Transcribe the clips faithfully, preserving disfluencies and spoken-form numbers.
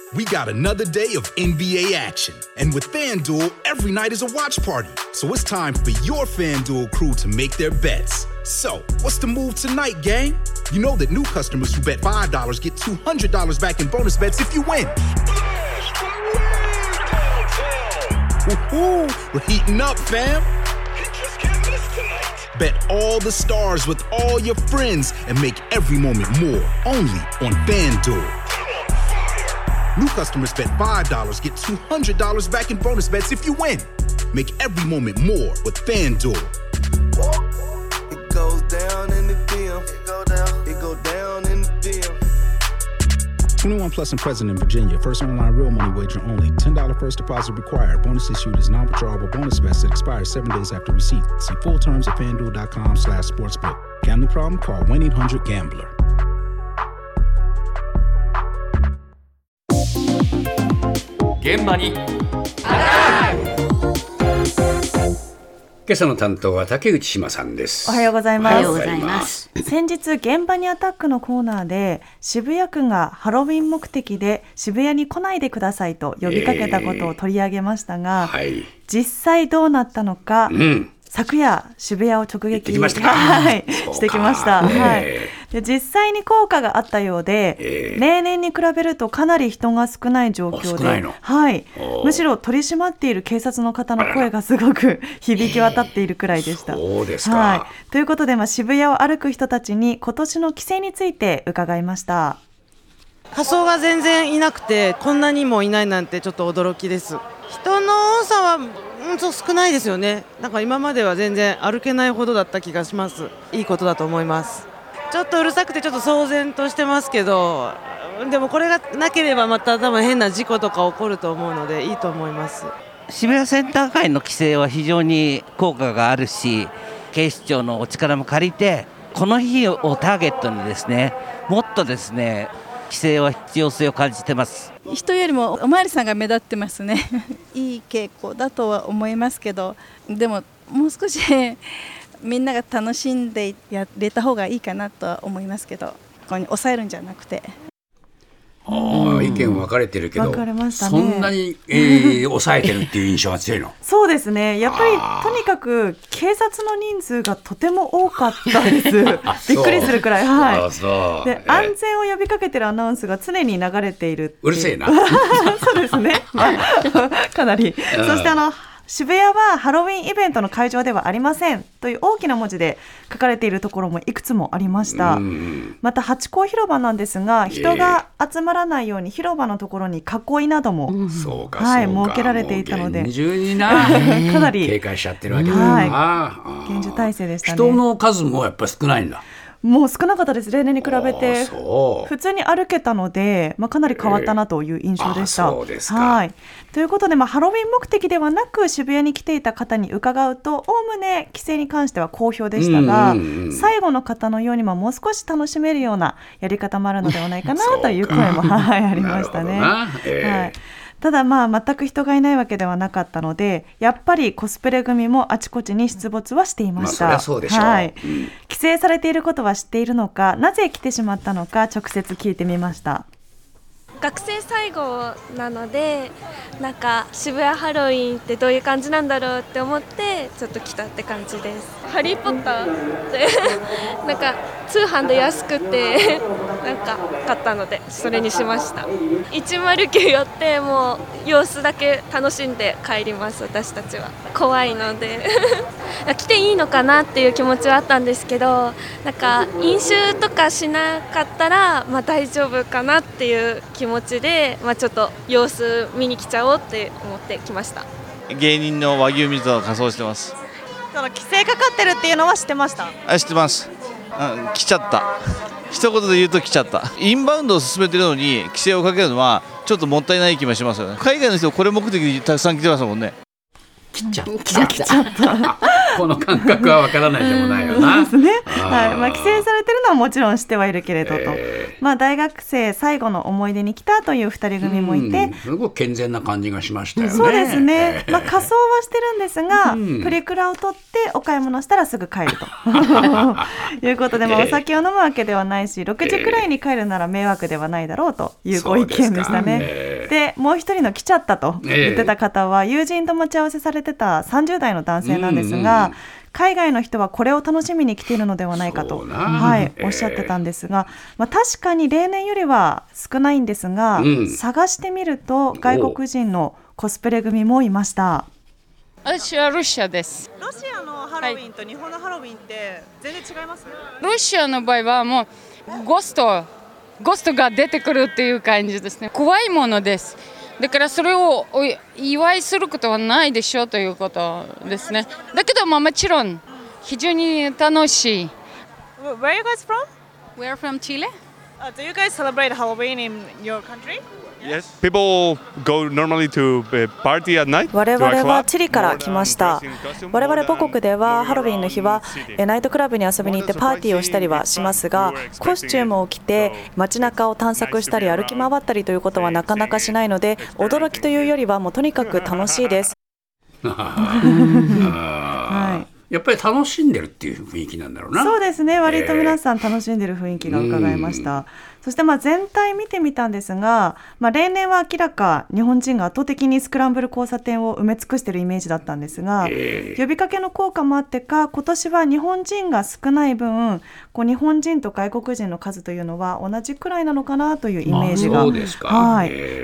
We got another day of N B A action. And with FanDuel, every night is a watch party. So it's time for your FanDuel crew to make their bets. So, what's the move tonight, gang? You know that new customers who bet five dollars get two hundred dollars back in bonus bets if you win. Woohoo! We're heating up, fam. Bet all the stars with all your friends and make every moment more only on FanDuel. New customers bet five dollars, get two hundred dollars back in bonus bets if you win. Make every moment more with FanDuel. It goes down in the D M. It go down. It go down in the D M. twenty-one plus and present in Virginia. First online real money wager only. ten dollars first deposit required. Bonus issued is non-withdrawable bonus bets that expires seven days after receipt. See full terms at FanDuel.com slash sportsbook. Gambling problem? Call one eight hundred gambler. 現場に今朝の担当は竹内島さんです。 おはようございます。 おはようございます。 先日現場にアタックのコーナーで渋谷区がハロウィン目的で渋谷に来ないでくださいと呼びかけたことを取り上げましたが、えーはい、実際どうなったのか、うん、昨夜渋谷を直撃きましたはい、してきました、はい、で実際に効果があったようで、えー、例年に比べるとかなり人が少ない状況で、はい、むしろ取り締まっている警察の方の声がすごく響き渡っているくらいでした。 そうですか、 はい、ということで、まあ、渋谷を歩く人たちに今年の規制について伺いました。 仮装が全然いなくてこんなにもいないなんてちょっと驚きです。人の多さはうんと少ないですよね。なんか今までは全然歩けないほどだった気がします。いいことだと思います。ちょっとうるさくてちょっと騒然としてますけど、でもこれがなければまた多分変な事故とか起こると思うのでいいと思います。 渋谷センター街の規制は非常に効果があるし、警視庁のお力も借りてこの日をターゲットにですね、もっとですね規制は必要性を感じてます。 人よりもおまわりさんが目立ってますねいい傾向だとは思いますけど、でももう少しみんなが楽しんでやれた方がいいかなとは思いますけど、ここに抑えるんじゃなくて。 ああ、意見分かれてるけど、 分かれましたね。 そんなに、えー、抑えてるっていう印象が強いのそうですね、やっぱりとにかく警察の人数がとても多かったですびっくりするくらい、はい、あそうで、えー、安全を呼びかけてるアナウンスが常に流れているっていう。 うるせえなそうですね、まあ、かなりそしてあの渋谷はハロウィンイベントの会場ではありませんという大きな文字で書かれているところもいくつもありました。またハチ公広場なんですが、人が集まらないように広場のところに囲いなども、うん、そうかはい、設けられていたので厳重になかなり警戒しちゃってるわけだな、 はい、厳重体制でしたね。 人の数もやっぱり少ないんだ。 もう少なかったです。例年に比べて普通に歩けたので、まあ、かなり変わったなという印象でした、えー、そうですか、はい、ということで、まあ、ハロウィン目的ではなく渋谷に来ていた方に伺うと、おおむね規制に関しては好評でしたが、うんうんうん、最後の方のように、まあ、もう少し楽しめるようなやり方もあるのではないかなという声も、はい、ありましたね、えーはい。ただまあ全く人がいないわけではなかったので、やっぱりコスプレ組もあちこちに出没はしていました、まあ、そりゃそうでしょう、はい、うん、規制されていることは知っているのか、なぜ来てしまったのか直接聞いてみました。 学生最後なので、なんか渋谷ハロウィンってどういう感じなんだろうって思ってちょっと来たって感じです。ハリーポッターってなんか通販で安くてなんか買ったのでそれにしました。いちまるきゅう寄ってもう様子だけ楽しんで帰ります。私たちは怖いので来ていいのかなっていう気持ちはあったんですけど、なんか飲酒とかしなかったらまあ大丈夫かなっていう気持ちで、まあ、ちょっと様子見に来ちゃおうって思ってきました。 芸人の和牛水を仮装してます。 その規制かかってるっていうのは知ってました？ あ、知ってます、うん、来ちゃった一言で言うと来ちゃった。インバウンドを進めてるのに規制をかけるのはちょっともったいない気もしますよね。海外の人これ目的でたくさん来てますもんね。 来ちゃった来ちゃったこの感覚はわからないでもないよな。 そうですね、はい、まあ、規制されてるのはもちろん知ってはいるけれどと、えーまあ、大学生最後の思い出に来たというふたり組もいて、 すごく健全な感じがしましたよね。 そうですね、まあ、仮装はしてるんですが、うん、プリクラを取ってお買い物したらすぐ帰るということで、まあ、お酒を飲むわけではないし、ろくじくらいに帰るなら迷惑ではないだろうというご意見でしたね。 でもう一人の来ちゃったと言ってた方は、友人と待ち合わせされてたさんじゅう代の男性なんですが、うんうん、海外の人はこれを楽しみに来ているのではないかと、はい、おっしゃってたんですが、まあ、確かに例年よりは少ないんですが、うん、探してみると外国人のコスプレ組もいました。 私はロシアです。 ロシアのハロウィンと日本のハロウィンって全然違いますね。 ロシアの場合はもうゴーストゴーストが出てくるっていう感じですね。怖いものです。だからそれをお祝いすることはないでしょうということですね。だけどまあもちろん非常に楽しい。 Where are you guys from? We are from Chile. Uh, do you guys celebrate Halloween in your country? Yes, people go normally to party at night. 我々はチリから来ました。我々母国ではハロウィンの日はナイトクラブに遊びに行ってパーティーをしたりはしますが、コスチュームを着て街中を探索したり歩き回ったりということはなかなかしないので、驚きというよりはもうとにかく楽しいです。 はい、やっぱり楽しんでるっていう雰囲気なんだろうな。 そうですね、割と皆さん楽しんでる雰囲気が伺えました。そしてまあ全体見てみたんですが、まあ、例年は明らか日本人が圧倒的にスクランブル交差点を埋め尽くしているイメージだったんですが、呼びかけの効果もあってか今年は日本人が少ない分、こう日本人と外国人の数というのは同じくらいなのかなというイメージが、はい、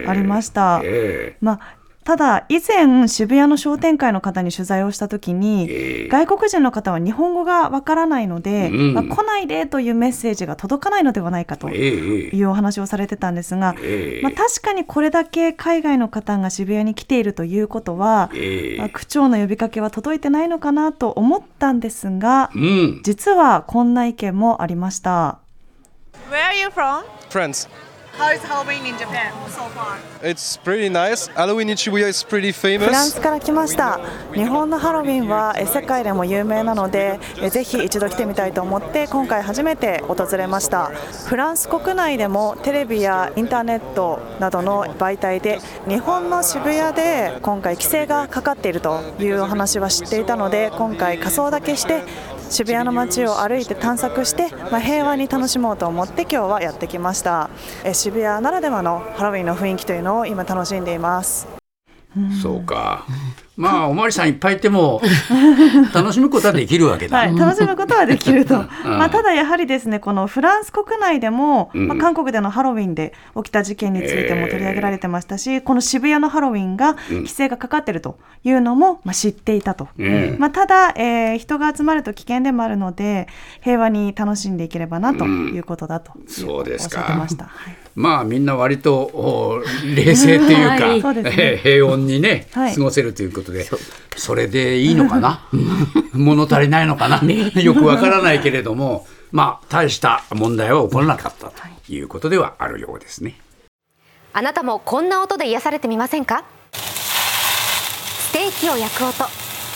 ありました。まあただ以前渋谷の商店会の方に取材をしたときに、えー、外国人の方は日本語がわからないので、うんまあ、来ないでというメッセージが届かないのではないかというお話をされてたんですが、えーまあ、確かにこれだけ海外の方が渋谷に来ているということは、えーまあ、区長の呼びかけは届いてないのかなと思ったんですが、うん、実はこんな意見もありました。 Where are you from? France.How is Halloween in Japan so far? It's pretty nice. Halloween in Shibuya is pretty famous. フランスから来ました。日本のハロウィンは世界でも有名なので、ぜひ一度来てみたいと思って今回初めて訪れました。フランス国内でもテレビやインターネットなどの媒体で日本の渋谷で今回規制がかかっているというお話は知っていたので、今回仮装だけして渋谷の街を歩いて探索して、まあ、平和に楽しもうと思って今日はやってきました。え渋谷ならではのハロウィンの雰囲気というのを今楽しんでいます。 そうか、まあおまわりさんいっぱいいても楽しむことはできるわけだ、 はい、楽しむことはできると、まあ、ただやはりですね、このフランス国内でも、うんまあ、韓国でのハロウィンで起きた事件についても取り上げられてましたし、えー、この渋谷のハロウィンが規制がかかっているというのも、まあ、知っていたと、うんまあ、ただ、えー、人が集まると危険でもあるので平和に楽しんでいければなということだと、うん、 そうですか、 おっしゃってました。はい、 まあみんな割と冷静っていうか、はいそうですね、平穏にね、はい、過ごせるということで、それでいいのかな物足りないのかなよくわからないけれども、まあ大した問題は起こらなかったということではあるようですね。 あなたもこんな音で癒されてみませんか？ステーキを焼く音、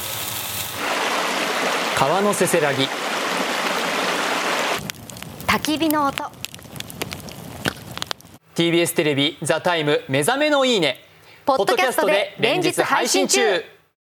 川のせせらぎ、 焚き火の音。 ティービーエス テレビザタイム目覚めのいいねポッドキャストで連日配信中。